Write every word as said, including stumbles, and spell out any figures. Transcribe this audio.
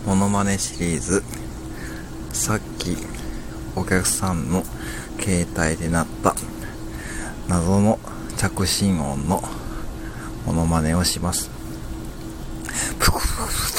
モノマネシリーズ、さっきお客さんの携帯で鳴った謎の着信音のモノマネをします。プクプクプク